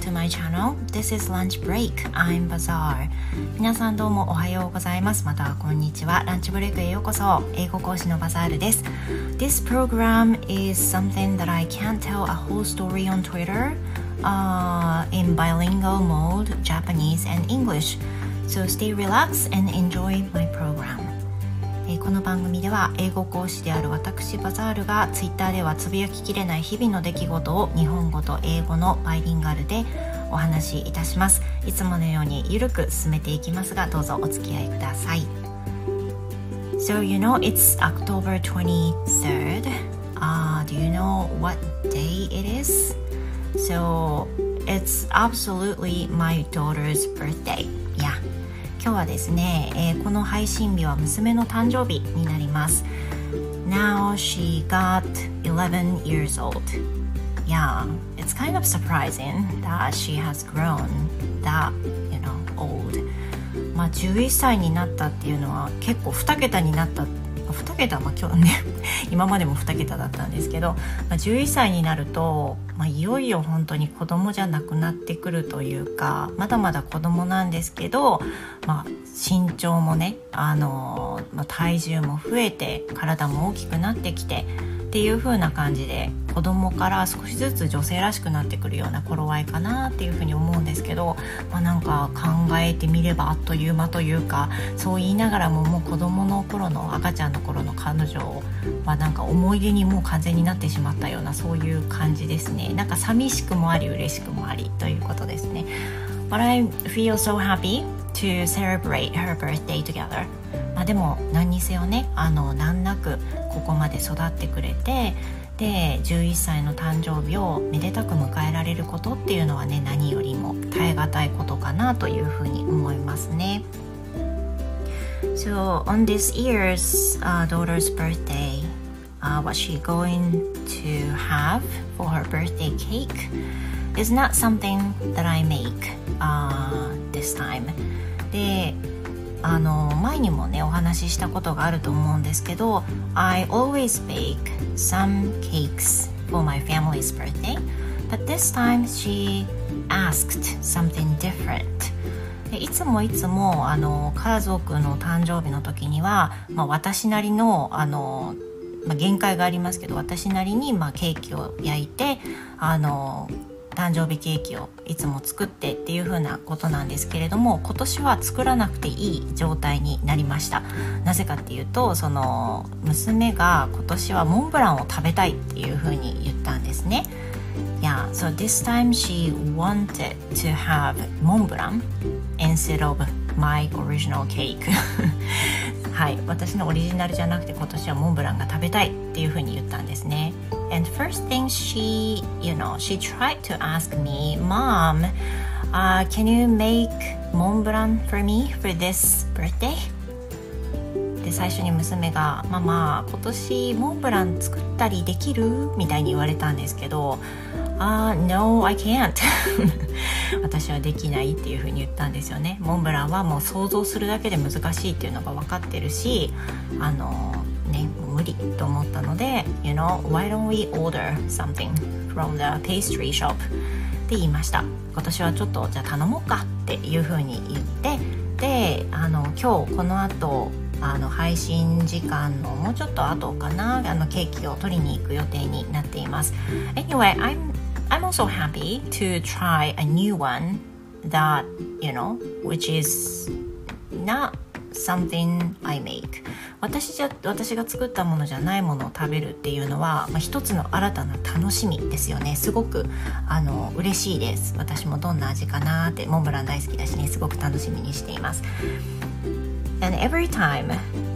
to my channel. This is lunch break. I'm Bazaar. 皆さんどうもおはようございます。またはこんにちは。ランチブレイクへようこそ。英語講師のバザールです。This program is something that I can't tell a whole story on Twitter、in bilingual mode, Japanese and English. So stay relaxed and enjoy my program.この番組では英語講師である私バザールがツイッターではつぶやききれない日々の出来事を日本語と英語のバイリンガルでお話しいたします。いつものようにゆるく進めていきますが、どうぞお付き合いください。So you know it's October 23rd.Do you know what day it is? So it's absolutely my daughter's birthday. Yeah.今日はですね、この配信日は娘の誕生日になります。Now she got 11 years old. Yeah, it's kind of surprising that she has grown that, old. まあ11歳になったっていうのは結構2桁になった2桁は今日ね今までも2桁だったんですけど、11歳になると、いよいよ本当に子供じゃなくなってくるというか、まだまだ子供なんですけど、身長もね、体重も増えて体も大きくなってきてっていう風な感じで、子供から少しずつ女性らしくなってくるような頃合いかなっていう風に思うんですけど、なんか考えてみればあっという間というか、そう言いながらももう子供の頃の赤ちゃんの頃の彼女はなんか思い出にもう完全になってしまったような、そういう感じですね。なんか寂しくもあり嬉しくもありということですね。But I feel so happy to celebrate her birthday together. でも何にせよね、難なくここまで育ってくれて、で11歳の誕生日をめでたく迎えられることっていうのはね、何よりも耐え難いことかなというふうに思いますね。So on this year's、daughter's birthday,、what she going to have for her birthday cake is not something that I make、this time. で前にもねお話ししたことがあると思うんですけど、 I always bake some cakes for my family's birthday, but this time she asked something different. いつも家族の誕生日の時には、私なりの限界がありますけど、私なりにケーキを焼いて誕生日ケーキをいつも作ってっていう風なことなんですけれども、今年は作らなくていい状態になりました。なぜかっていうと、その娘が今年はモンブランを食べたいっていう風に言ったんですね。Yeah, so this time she wanted to have モンブラン instead of my original cake はい、私のオリジナルじゃなくて今年はモンブランが食べたいっていう風に言ったんですね。And first thing she tried to ask me, Mom,、can you make モンブラン for me for this birthday? で最初に娘が、ママ今年モンブラン作ったりできるみたいに言われたんですけど、No, I can't 私はできないっていう風に言ったんですよね。モンブランはもう想像するだけで難しいっていうのが分かってるし、無理と思ったので、why don't we order something from the pastry shop って言いました。今年はちょっとじゃあ頼もうかっていう風に言って、で今日この後配信時間のもうちょっと後かな、ケーキを取りに行く予定になっています。Anyway, I'm also happy to try a new one that, which is not something I make. 私が作ったものじゃないものを食べるっていうのは、一つの新たな楽しみですよね。すごく嬉しいです。私もどんな味かなって、モンブラン大好きだしね、すごく楽しみにしています。And every time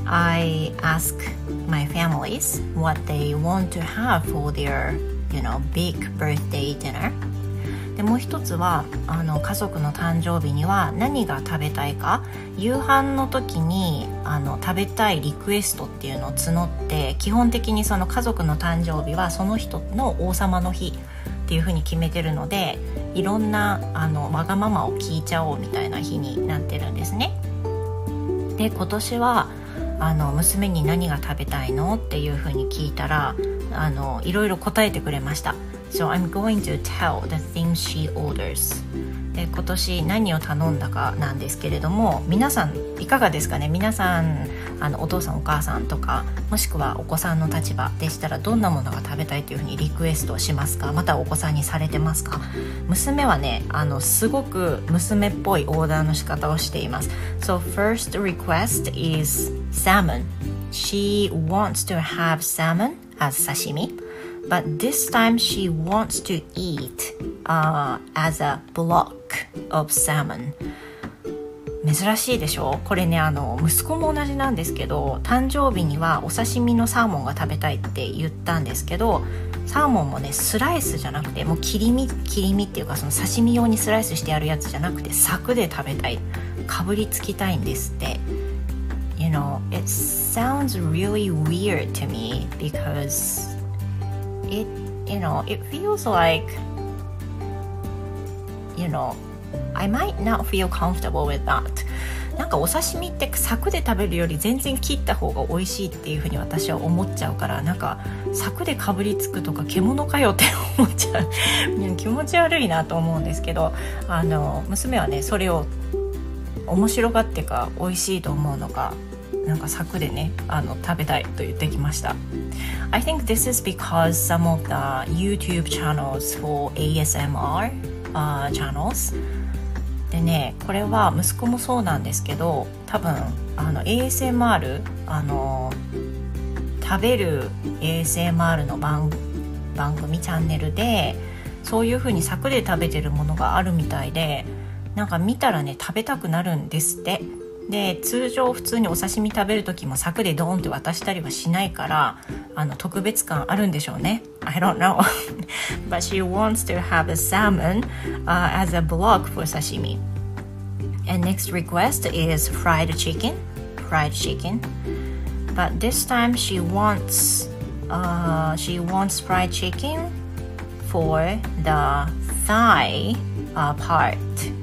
I ask my families what they want to have for their, big birthday dinner. でもう一つは家族の誕生日には何が食べたいか、夕飯の時に食べたいリクエストっていうのを募って、基本的にその家族の誕生日はその人の王様の日っていう風に決めてるので、いろんなわがままを聞いちゃおうみたいな日になってるんですね。で今年は娘に何が食べたいのっていう風に聞いたらいろいろ答えてくれました。 So I'm going to tell the things she orders. で今年何を頼んだかなんですけれども、皆さんいかがですかね。皆さんお父さんお母さんとか、もしくはお子さんの立場でしたらどんなものが食べたいというふうにリクエストをしますか。またお子さんにされてますか。娘はねすごく娘っぽいオーダーの仕方をしています。 So first request is salmon. She wants to have salmon as sashimi.But this time she wants to eat as a block of salmon. 珍しいでしょ。これね息子も同じなんですけど、誕生日にはお刺身のサーモンが食べたいって言ったんですけど、サーモンもねスライスじゃなくてもう切り身っていうか、その刺身用にスライスしてあるやつじゃなくて柵で食べたい、かぶりつきたいんですって。You know, it sounds really weird to me because it feels like, I might not feel comfortable with that. なんかお刺身って柵で食べるより全然切った方が美味しいっていう風に私は思っちゃうから、なんか柵でかぶりつくとか獣かよって思っちゃう気持ち悪いなと思うんですけど、娘はねそれを面白がってか美味しいと思うのか、なんか柵でね食べたいと言ってきました。 I think this is because some of the YouTube channels for ASMR channels でね、これは息子もそうなんですけど、多分ASMR 食べる ASMR の番組チャンネルでそういう風に柵で食べてるものがあるみたいで、なんか見たらね食べたくなるんですって。で通常普通にお刺身食べる時も柵でドーンって渡したりはしないから、特別感あるんでしょうね。 I don't know but she wants to have a salmon as a block for sashimi. And next request is fried chicken, but this time she wants fried chicken for the thigh part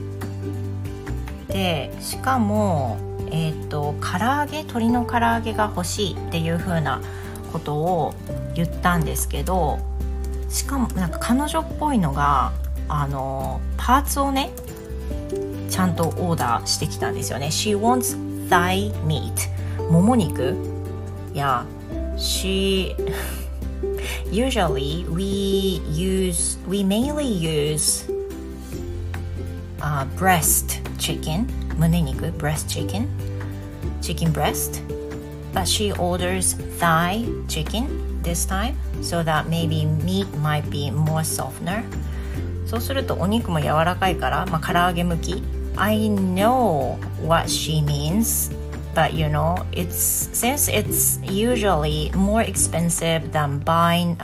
で、しかも鶏の唐揚げが欲しいっていう風なことを言ったんですけど、しかもなんか彼女っぽいのがパーツをねちゃんとオーダーしてきたんですよね。 She wants thigh meat, もも肉。いや、usually we mainly use breast chicken, 胸肉 breast chicken breast, but she orders thigh chicken this time so that maybe meat might be more softener. そうするとお肉も柔らかいから、唐揚げ向き。 I know what she means, but since it's usually more expensive than buying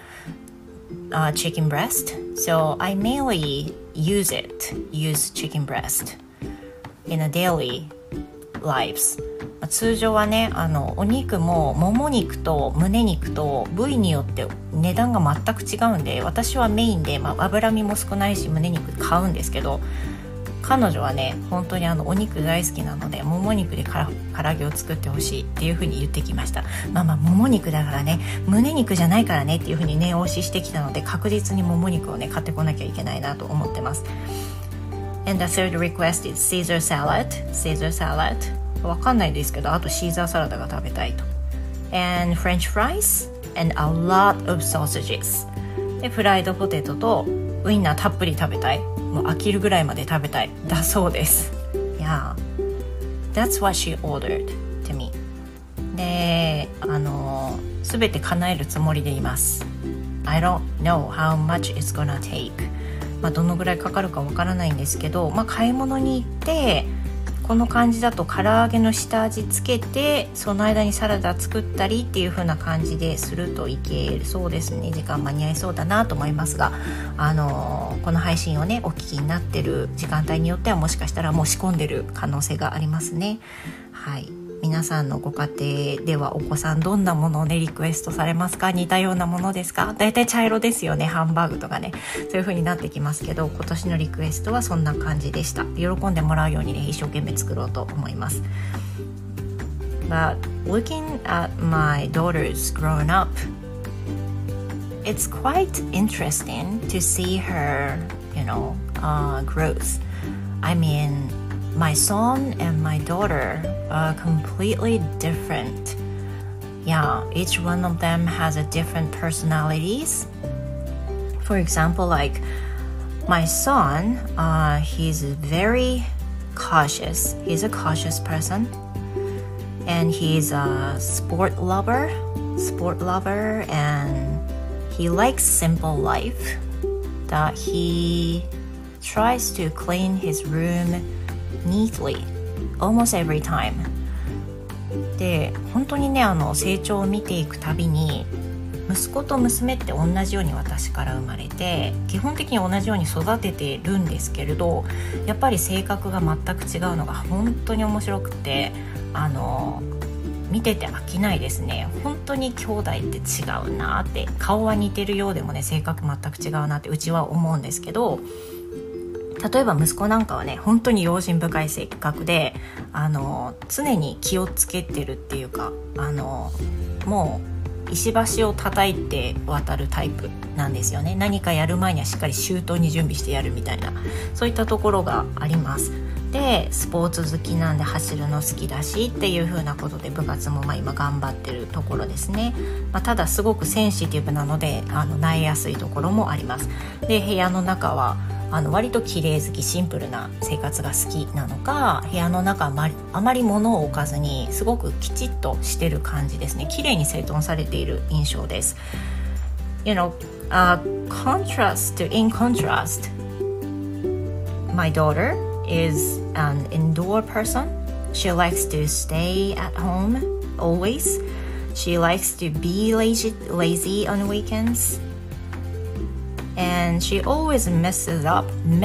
chicken breast, so I mainly use chicken breast in a daily lives. 通常はねお肉ももも肉と胸肉と部位によって値段が全く違うんで、私はメインで、脂身も少ないし胸肉買うんですけど、彼女はね本当にお肉大好きなのでもも肉で唐揚げを作ってほしいっていう風に言ってきました。もも肉だからね、胸肉じゃないからねっていう風に念押ししてきたので、確実にもも肉をね買ってこなきゃいけないなと思ってます。 And the third request is Caesar salad わかんないですけど、あとシーザーサラダが食べたいと。 And French fries and a lot of sausages でフライドポテトとウインナーたっぷり食べたい、もう飽きるぐらいまで食べたいだそうです。Yeah, that's what she ordered to me. で全て叶えるつもりでいます。 I don't know how much it's gonna take. どのぐらいかかるかわからないんですけど、買い物に行ってこの感じだと唐揚げの下味つけてその間にサラダ作ったりっていう風な感じでするといけそうですね。時間間に合いそうだなと思いますが、この配信をねお聞きになってる時間帯によってはもしかしたらもう仕込んでる可能性がありますね。はい、皆さんのご家庭ではお子さんどんなものをねリクエストされますか？似たようなものですか？だいたい茶色ですよね、ハンバーグとかね、そういう風になってきますけど、今年のリクエストはそんな感じでした。喜んでもらうようにね一生懸命作ろうと思います。 But looking at my daughters growing up, it's quite interesting to see her, growth. I mean, my son and my daughter are completely different. Yeah, each one of them has a different personalities. For example, like my son, he's very cautious. He's a cautious person, and he's a sport lover, and he likes simple life. That he tries to clean his room neatly almost every time. で、本当にね、成長を見ていくたびに、息子と娘って同じように私から生まれて、基本的に同じように育ててるんですけれど、やっぱり性格が全く違うのが本当に面白くて、見てて飽きないですね。本当に兄弟って違うなって、顔は似てるようでもね、性格全く違うなってうちは思うんですけど、例えば息子なんかはね、本当に用心深い性格で、常に気をつけてるっていうか、もう石橋を叩いて渡るタイプなんですよね。何かやる前にはしっかり周到に準備してやるみたいな、そういったところがあります。で、スポーツ好きなんで走るの好きだしっていう風なことで部活も今頑張ってるところですね。ただすごくセンシティブなので萎えやすいところもあります。で、部屋の中は割と綺麗好き、シンプルな生活が好きなのか、部屋の中あまり物を置かずにすごくきちっとしてる感じですね。綺麗に整頓されている印象です。in contrast, my daughter is an indoor person. She likes to stay at home always. She likes to be lazy on weekends. And she always messes up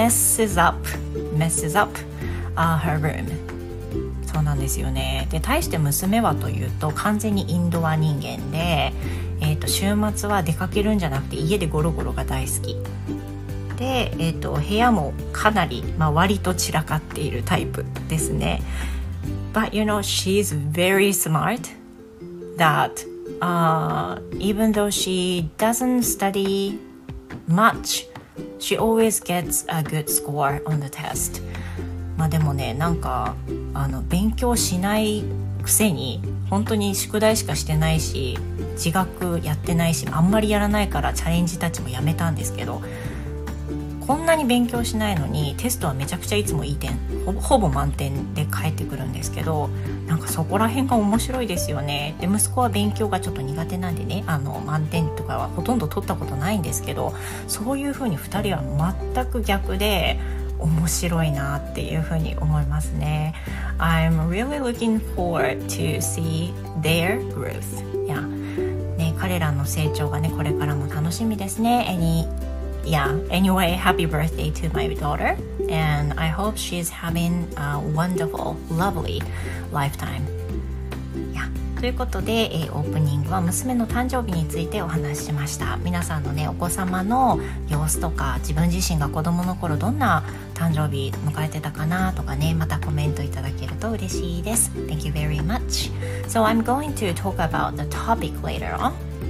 her room. そうなんですよね。で、対して娘はというと完全にインドア人間で、週末は出かけるんじゃなくて家でゴロゴロが大好きで、部屋もかなり、割と散らかっているタイプですね。But she's very smart that even though she doesn't study much, she always gets a good score on the test. でもね、なんか勉強しないくせに本当に宿題しかしてないし、自学やってないし、あんまりやらないからチャレンジたちもやめたんですけど、こんなに勉強しないのにテストはめちゃくちゃいつもいい点、ほぼ満点で返ってくるんですけど、なんかそこら辺が面白いですよね。で、息子は勉強がちょっと苦手なんでね、満点とかはほとんど取ったことないんですけど、そういう風に2人は全く逆で面白いなっていう風に思いますね。I'm really looking forward to see their growth. Yeah. ね、彼らの成長がね、これからも楽しみですね。Anyway, happy birthday to my daughter, and I hope she's having a wonderful, lovely lifetime. ということで、オープニングは娘の誕生日についてお話ししました。皆さんのね、お子様の様子とか、自分自身が子供の頃どんな誕生日迎えてたかなとかね、またコメントいただけると嬉しいです。Thank you very much. So I'm going to talk about the topic later on.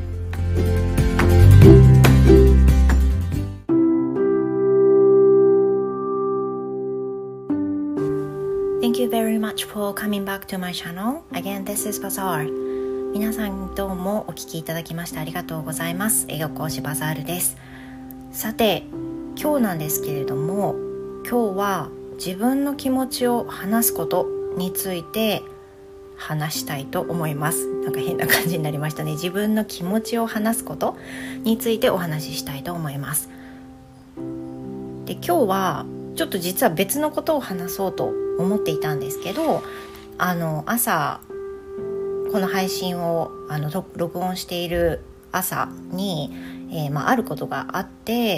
Thank you very much for coming back to my channel. Again, this is Bazaar. 皆さんどうもお聞きいただきましてありがとうございます。英語講師バザールです。さて、今日なんですけれども、今日は自分の気持ちを話すことについて話したいと思います。なんか変な感じになりましたね。自分の気持ちを話すことについてお話ししたいと思います。で、今日はちょっと実は別のことを話そうと思っていたんですけど、朝この配信を録音している朝に、あることがあって、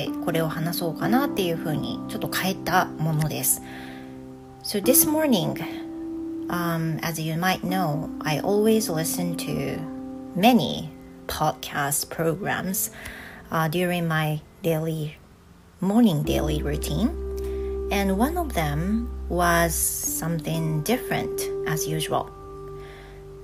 これを話そうかなっていうふうにちょっと変えたものです。So this morning, as you might know, I always listen to many podcast programs during my morning daily routine.And one of them was something different as usual.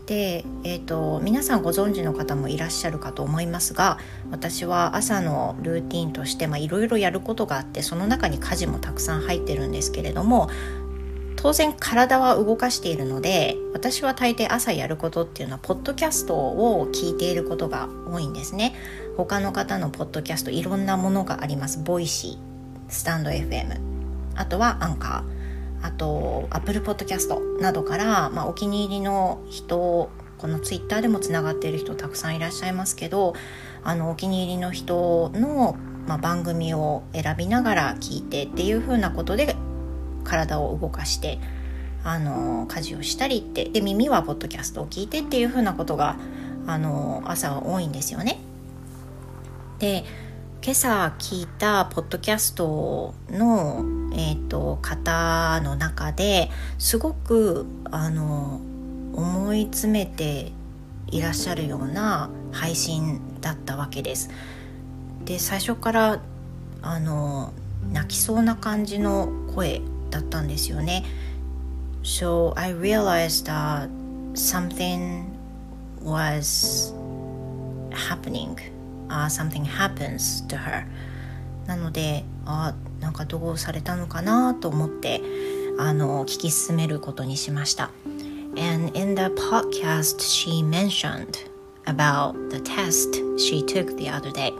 で、皆さんご存知の方もいらっしゃるかと思いますが、私は朝のルーティンとしていろいろやることがあって、その中に家事もたくさん入ってるんですけれども、当然体は動かしているので、私は大抵朝やることっていうのはポッドキャストを聞いていることが多いんですね。他の方のポッドキャストいろんなものがあります。ボイシー、スタンド FM、 あとはアンカー、あと Apple Podcast などから、お気に入りの人、このツイッターでもつながっている人たくさんいらっしゃいますけど、お気に入りの人の、番組を選びながら聞いてっていう風なことで体を動かして家事をしたりって、で耳はポッドキャストを聞いてっていう風なことが朝は多いんですよね。で、今朝聞いたポッドキャストの、方の中ですごく思い詰めていらっしゃるような配信だったわけです。で、最初から泣きそうな感じの声だったんですよね。So I realized that something was happening.Something happens to her. なので、なんかどうされたのかなと思って聞き進めることにしました。And in the podcast, she mentioned about the test she took the other day.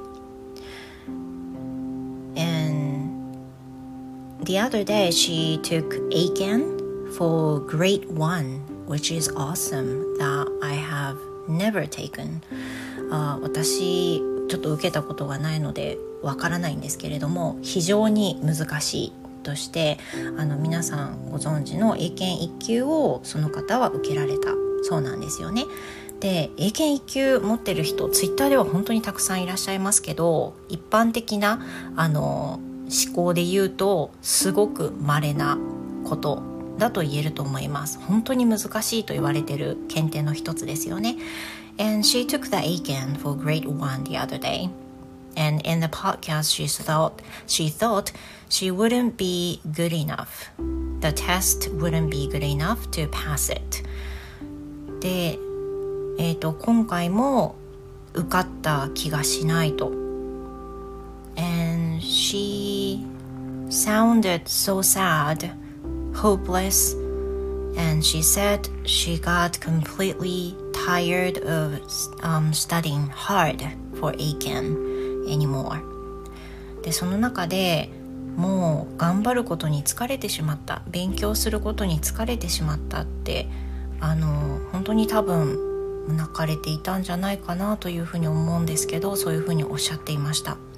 And the other day, she took ACAN for grade 1, which is awesome that I have never taken. 私ちょっと受けたことがないのでわからないんですけれども、非常に難しいとして皆さんご存知の英検1級をその方は受けられたそうなんですよね。で、英検1級持ってる人ツイッターでは本当にたくさんいらっしゃいますけど、一般的な思考で言うとすごく稀なことだと言えると思います。本当に難しいと言われている検定の一つですよね。And she took the ACAN for grade 1 the other day. And in the podcast, she thought she wouldn't be good enough. The test wouldn't be good enough to pass it. で、今回も受かった気がしないと。And she sounded so sad, hopeless, and she said she got completely tired of studying hard for ACAN anymore. で、その中でもう頑張ることに疲れてしまった、勉強することに疲れてしまったって本当に多分泣かれていたんじゃないかなというふうに思うんですけど、そういうふうにおっしゃっていました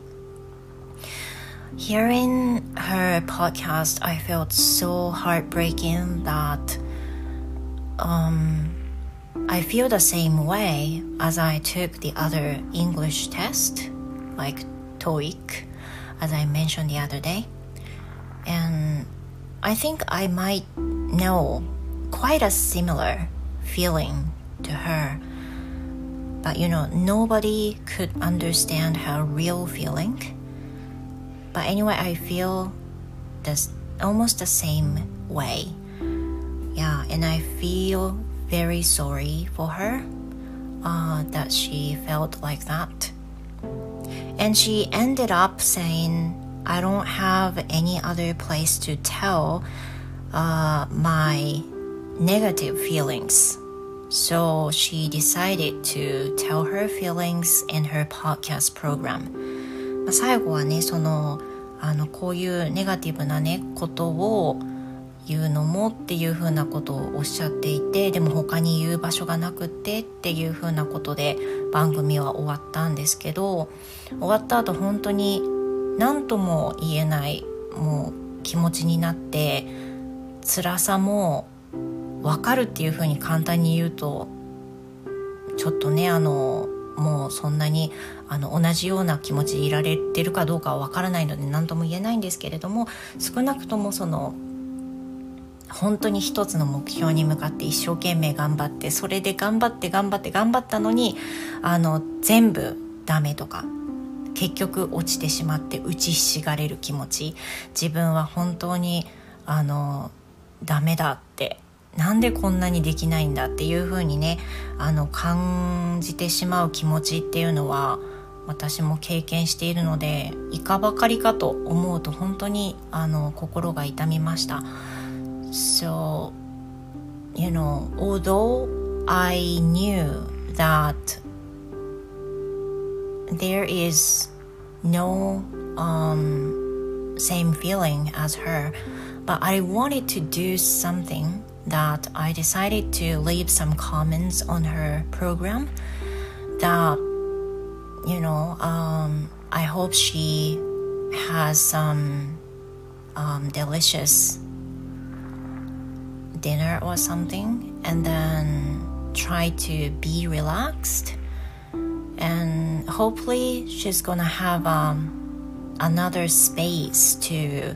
。Hearing her podcast, I felt so heartbreaking that I feel the same way as I took the other English test, like TOEIC, as I mentioned the other day. And I think I might know quite a similar feeling to her. But nobody could understand her real feeling. But anyway, I feel almost the same way. Yeah, and I feel very sorry for her that she felt like that. And she ended up saying, I don't have any other place to tell my negative feelings. So she decided to tell her feelings in her podcast program. 最後はね、こういうネガティブなねことを言うのもっていうふうなことをおっしゃっていて、でも他に言う場所がなくってっていうふうなことで番組は終わったんですけど、終わった後本当に何とも言えないもう気持ちになって、辛さも分かるっていうふうに簡単に言うとちょっとねもうそんなに同じような気持ちでいられてるかどうかは分からないので何とも言えないんですけれども、少なくとも本当に一つの目標に向かって一生懸命頑張って、それで頑張ったのに全部ダメとか結局落ちてしまって打ちひしがれる気持ち、自分は本当にダメだってなんでこんなにできないんだっていう風にね感じてしまう気持ちっていうのは私も経験しているので、いかばかりかと思うと本当に心が痛みました。 So although I knew that there is no same feeling as her, but I wanted to do something that I decided to leave some comments on her program that I hope she has some delicious dinner or something, and then try to be relaxed, and hopefully she's gonna have another space to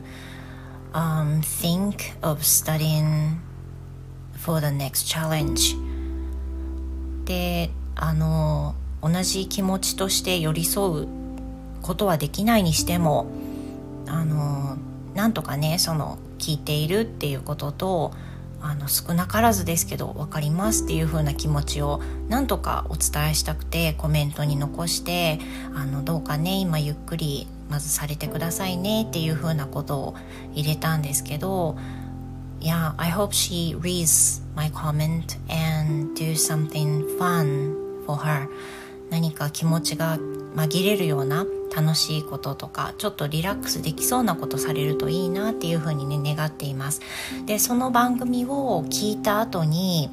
think of studying for the next challenge. で同じ気持ちとして寄り添うことはできないにしてもなんとかね聞いているっていうことと少なからずですけど分かりますっていう風な気持ちをなんとかお伝えしたくてコメントに残してどうかね今ゆっくりまずされてくださいねっていう風なことを入れたんですけど、Yeah, I hope she reads my comment and do something fun for her. 何か気持ちが紛れるような楽しいこととかちょっとリラックスできそうなことされるといいなっていうふうにね願っています。でその番組を聞いた後に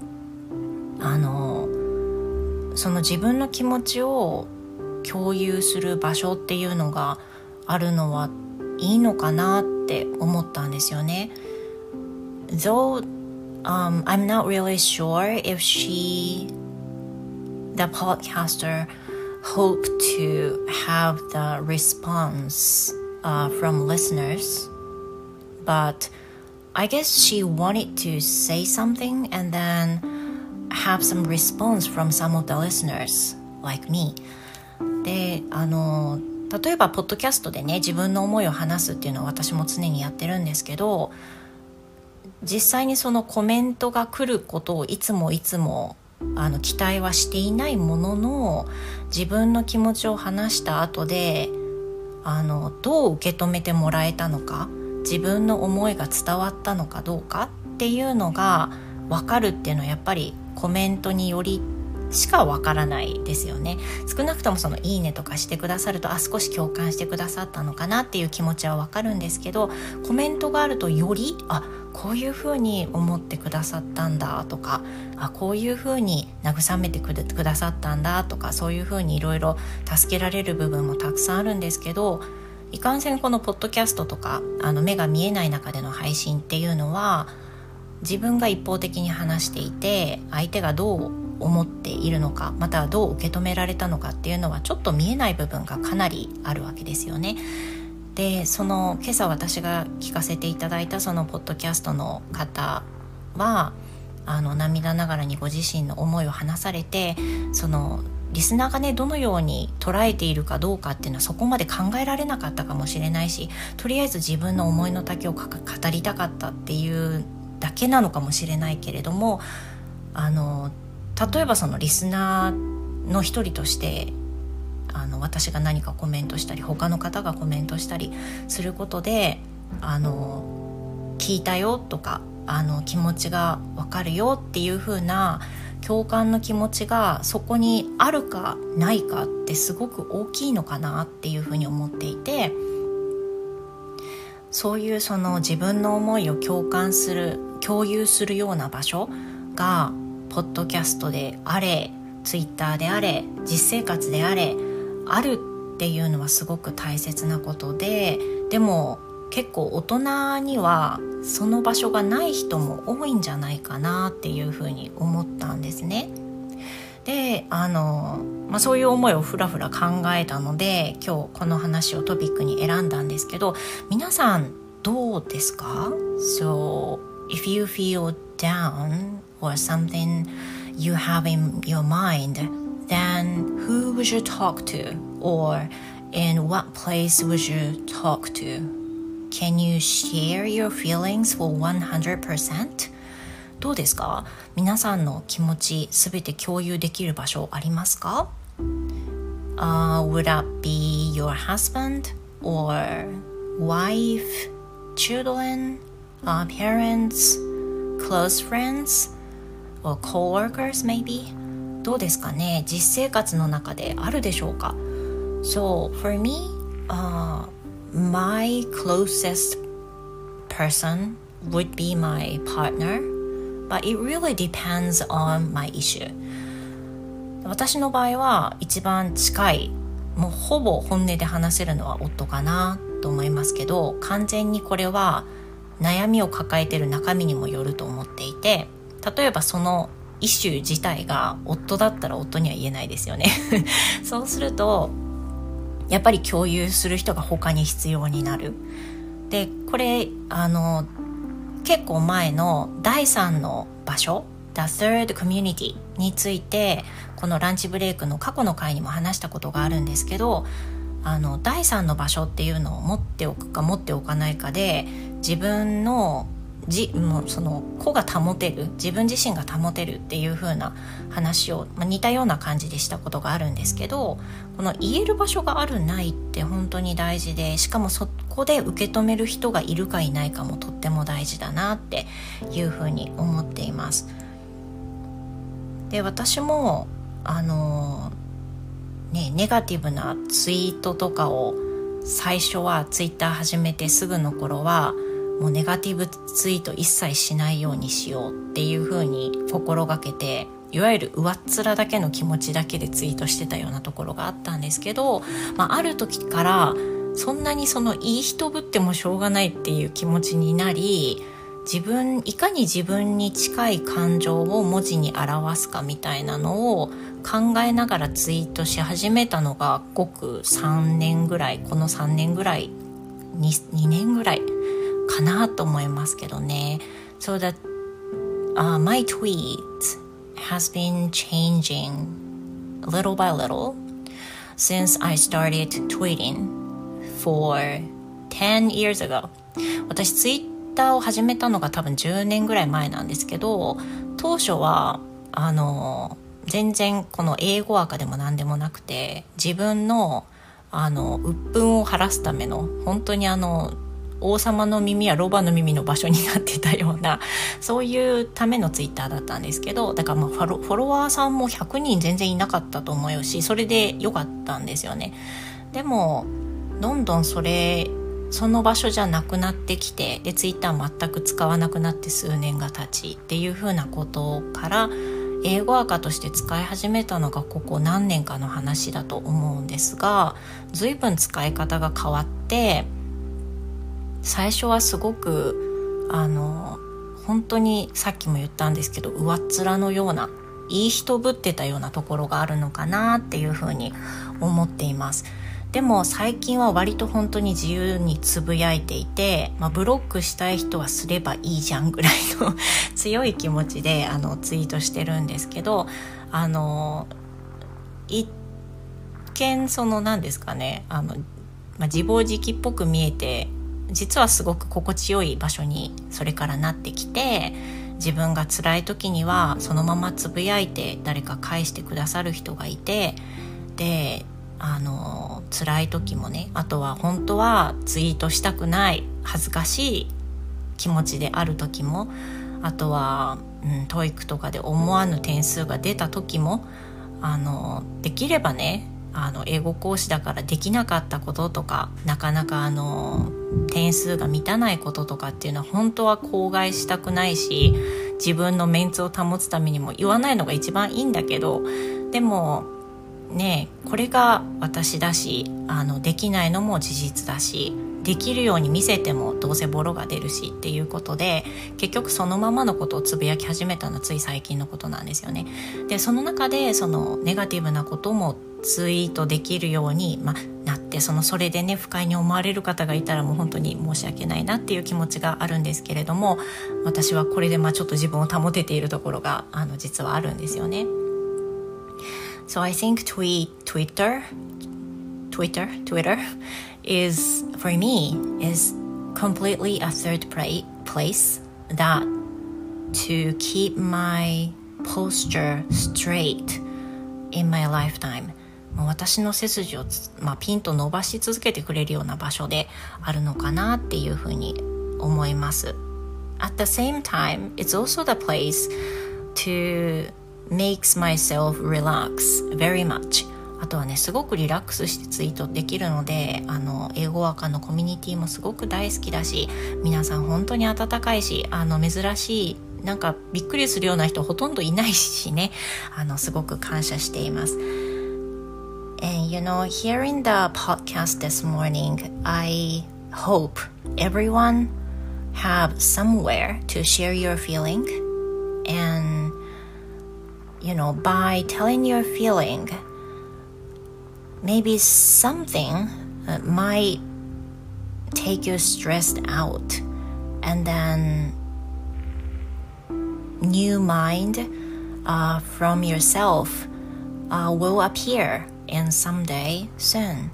その自分の気持ちを共有する場所っていうのがあるのはいいのかなって思ったんですよね。Though I'm not really sure if the podcaster hope to have the response from listeners, but I guess she wanted to say something and then have some response from some of the listeners like me. で例えばポッドキャストでね自分の思いを話すっていうのは私も常にやってるんですけど、実際にそのコメントが来ることをいつも期待はしていないものの、自分の気持ちを話した後でどう受け止めてもらえたのか、自分の思いが伝わったのかどうかっていうのが分かるっていうのはやっぱりコメントによりしか分からないですよね。少なくともいいねとかしてくださると少し共感してくださったのかなっていう気持ちは分かるんですけど、コメントがあるとよりこういうふうに思ってくださったんだとかこういうふうに慰めてくださったんだとか、そういうふうにいろいろ助けられる部分もたくさんあるんですけど、いかんせんこのポッドキャストとか目が見えない中での配信っていうのは自分が一方的に話していて、相手がどう思っているのか、またはどう受け止められたのかっていうのはちょっと見えない部分がかなりあるわけですよね。で今朝私が聞かせていただいたそのポッドキャストの方は涙ながらにご自身の思いを話されて、リスナーがねどのように捉えているかどうかっていうのはそこまで考えられなかったかもしれないし、とりあえず自分の思いの丈を語りたかったっていうだけなのかもしれないけれども、例えばリスナーの一人として私が何かコメントしたり他の方がコメントしたりすることで聞いたよとか気持ちが分かるよっていう風な共感の気持ちがそこにあるかないかってすごく大きいのかなっていう風に思っていて、そういう自分の思いを共有するような場所がポッドキャストであれツイッターであれ実生活であれあるっていうのはすごく大切なことで、でも結構大人にはその場所がない人も多いんじゃないかなっていうふうに思ったんですね。でそういう思いをふらふら考えたので今日この話をトピックに選んだんですけど、皆さんどうですか？ So if you feel down or something you have in your mind, then who would you talk to? Or in what place would you talk to? Can you share your feelings for 100%? どうですか？皆さんの気持ちすべて共有できる場所ありますか？Would that be your husband or wife, children, parents, close friends, or coworkers maybe? どうですかね？実生活の中であるでしょうか？ So for me,my closest person would be my partner, but it really depends on my issue. 私の場合は一番近い、もうほぼ本音で話せるのは夫かなと思いますけど、完全にこれは悩みを抱えている中身にもよると思っていて、例えばそのイシュー自体が夫だったら夫には言えないですよねそうするとやっぱり共有する人が他に必要になる。でこれ結構前の第3の場所 The Third Community についてこのランチブレイクの過去の回にも話したことがあるんですけど、第3の場所っていうのを持っておくか持っておかないかで自分のもうその子が保てる、自分自身が保てるっていう風な話を、似たような感じでしたことがあるんですけど、この言える場所があるないって本当に大事で、しかもそこで受け止める人がいるかいないかもとっても大事だなっていう風に思っています。で私もネガティブなツイートとかを最初はツイッター始めてすぐの頃はもうネガティブツイート一切しないようにしようっていう風に心がけて、いわゆる上っ面だけの気持ちだけでツイートしてたようなところがあったんですけど、ある時からそんなにいい人ぶってもしょうがないっていう気持ちになり、いかに自分に近い感情を文字に表すかみたいなのを考えながらツイートし始めたのがごく3年ぐらい、この3年ぐらい 2年ぐらいかなと思いますけどね。So that、my tweet has been changing little by little since I started tweeting for 10 years ago. 私ツイッターを始めたのが多分10年ぐらい前なんですけど、当初は全然この英語赤でも何でもなくて、自分の鬱憤を晴らすための本当に王様の耳やロバの耳の場所になってたようなそういうためのツイッターだったんですけど、だからフォロワーさんも100人全然いなかったと思うし、それで良かったんですよね。でもどんどんその場所じゃなくなってきて、でツイッター全く使わなくなって数年が経ちっていう風なことから英語赤として使い始めたのがここ何年かの話だと思うんですが、随分使い方が変わって、最初はすごく本当にさっきも言ったんですけど上っ面のようないい人ぶってたようなところがあるのかなっていうふうに思っています。でも最近は割と本当に自由につぶやいていて、ブロックしたい人はすればいいじゃんぐらいの強い気持ちでツイートしてるんですけど、一見何ですかね、自暴自棄っぽく見えて実はすごく心地よい場所にそれからなってきて、自分が辛い時にはそのままつぶやいて誰か返してくださる人がいて、で辛い時もね、あとは本当はツイートしたくない恥ずかしい気持ちである時も、あとは、TOEIC とかで思わぬ点数が出た時もできればね、英語講師だからできなかったこととか、なかなか点数が満たないこととかっていうのは本当は口外したくないし、自分のメンツを保つためにも言わないのが一番いいんだけど、でもね、これが私だし、できないのも事実だし、できるように見せてもどうせボロが出るしっていうことで、結局そのままのことをつぶやき始めたのはつい最近のことなんですよね。でその中でネガティブなこともツイートできるように、なって、それでね不快に思われる方がいたらもう本当に申し訳ないなっていう気持ちがあるんですけれども、私はこれでちょっと自分を保てているところが実はあるんですよね。So I think Twitter is, for me, is completely a third place that to keep my posture straight in my lifetime. 私の背筋をピンと伸ばし続けてくれるような場所であるのかなっていうふうに思います。At the same time, it's also the place to makes myself relax very much. あとはね、すごくリラックスしてツイートできるので、英語ワーカーのコミュニティもすごく大好きだし、皆さん本当に温かいし、珍しい、なんかびっくりするような人ほとんどいないしね、すごく感謝しています。And hearing the podcast this morning, I hope everyone have somewhere to share your feeling. And, by telling your feeling, maybe something might take you stressed out. And then new mind from yourself will appear in someday soon.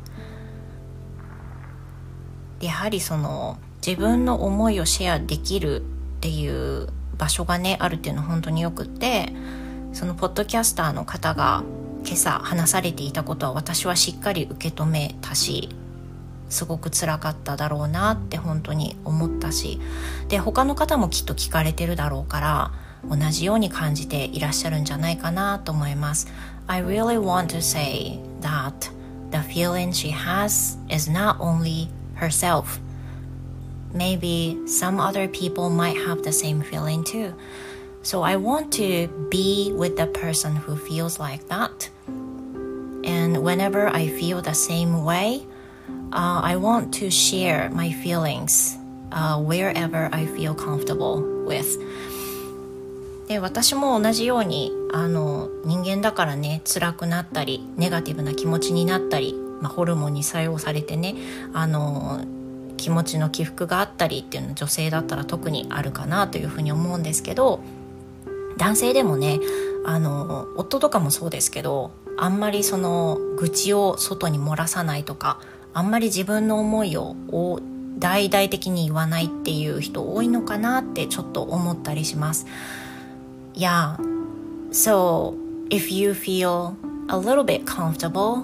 やはり自分の思いをシェアできるっていう場所がねあるっていうのは本当によくって、そのポッドキャスターの方が今朝話されていたことは私はしっかり受け止めたし、すごく辛かっただろうなって本当に思ったし、で他の方もきっと聞かれてるだろうから同じように感じていらっしゃるんじゃないかなと思います。I really want to say that the feeling she has is not only herself. Maybe some other people might have the same feeling too. So I want to be with the person who feels like that. And whenever I feel the same way, I want to share my feelings wherever I feel comfortable with. で、私も同じように人間だからね、辛くなったりネガティブな気持ちになったり、ホルモンに作用されてね、気持ちの起伏があったりっていうのは女性だったら特にあるかなというふうに思うんですけど、男性でもね、夫とかもそうですけど、あんまり愚痴を外に漏らさないとか、あんまり自分の思いを大々的に言わないっていう人多いのかなってちょっと思ったりします。Yeah, so if you feel a little bit comfortable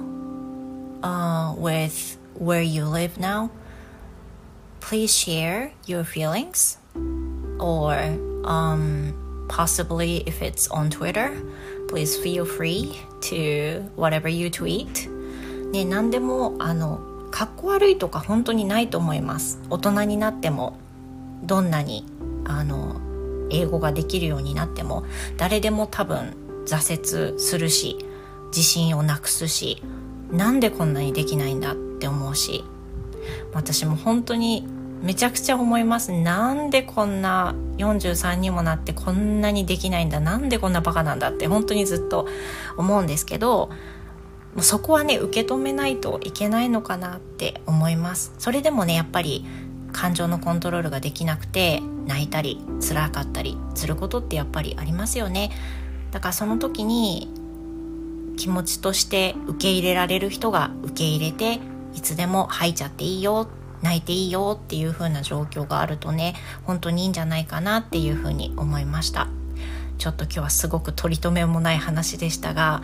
with where you live now, please share your feelings, or possibly if it's on Twitter, please feel free to whatever you tweet. ね、何でもかっこ悪いとか本当にないと思います。大人になってもどんなに英語ができるようになっても誰でも多分挫折するし、自信をなくすし、なんでこんなにできないんだって思うし、私も本当にめちゃくちゃ思います。なんでこんな43にもなってこんなにできないんだ、なんでこんなバカなんだって本当にずっと思うんですけど、もうそこはね受け止めないといけないのかなって思います。それでもねやっぱり感情のコントロールができなくて泣いたり辛かったりすることってやっぱりありますよね。だからその時に気持ちとして受け入れられる人が受け入れて、いつでも吐いちゃっていいよ、泣いていいよっていう風な状況があるとね、本当にいいんじゃないかなっていう風に思いました。ちょっと今日はすごく取り留めもない話でしたが、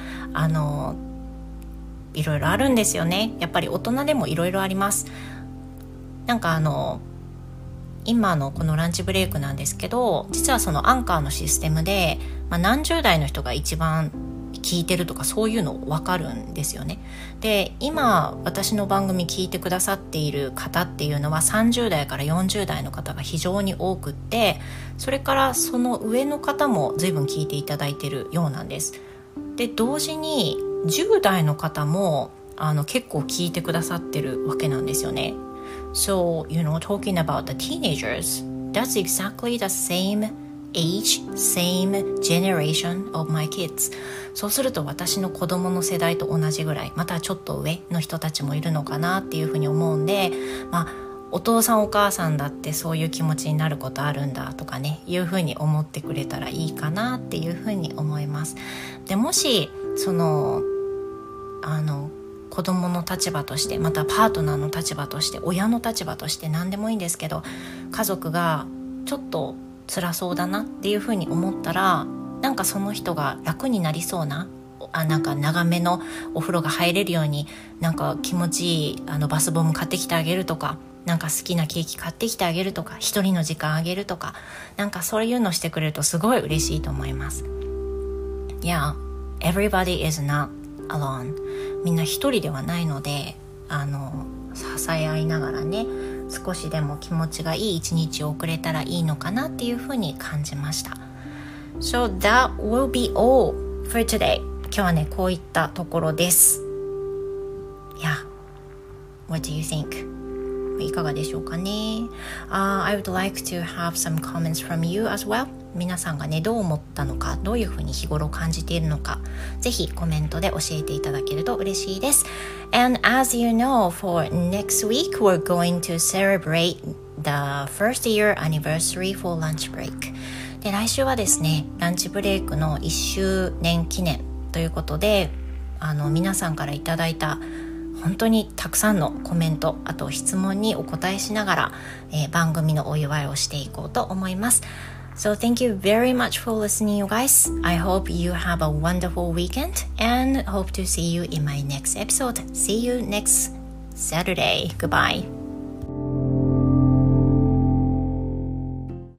いろいろあるんですよね。やっぱり大人でもいろいろあります。なんか今のこのランチブレイクなんですけど、実はそのアンカーのシステムで、何十代の人が一番聞いてるとかそういうの分かるんですよね。で、今私の番組聞いてくださっている方っていうのは30代から40代の方が非常に多くって、それからその上の方も随分聞いていただいているようなんです。で、同時に10代の方も結構聞いてくださってるわけなんですよね。So, talking about the teenagers, that's exactly the same age, same generation of my kids. そうすると私の子供の世代と同じぐらい、またちょっと上の人たちもいるのかなっていうふうに思うんで、お父さんお母さんだってそういう気持ちになることあるんだとかね、いうふうに思ってくれたらいいかなっていうふうに思います。で、もし子供の立場として、またパートナーの立場として、親の立場として何でもいいんですけど、家族がちょっと辛そうだなっていうふうに思ったら、なんかその人が楽になりそうな、なんか長めのお風呂が入れるように、なんか気持ちいいバスボム買ってきてあげるとか、なんか好きなケーキ買ってきてあげるとか、一人の時間あげるとか、なんかそういうのしてくれるとすごい嬉しいと思います。Yeah, everybody is not alone. みんな一人ではないので、支え合いながらね、少しでも気持ちがいい一日を送れたらいいのかなっていうふうに感じました。So that will be all for today. 今日はね、こういったところです。Yeah, what do you think?いかがでしょうかね。I would like to have some comments from you as well. 皆さんがね、どう思ったのか、どういうふうに日頃感じているのか、ぜひコメントで教えていただけると嬉しいです。And as you know, for next week, we're going to celebrate the first year anniversary for lunch break. で、来週はですね、ランチブレイクの1周年記念ということで、皆さんからいただいた本当にたくさんのコメント、あと質問にお答えしながら、番組のお祝いをしていこうと思います。So thank you very much for listening, you guys. I hope you have a wonderful weekend and hope to see you in my next episode. See you next Saturday. Goodbye.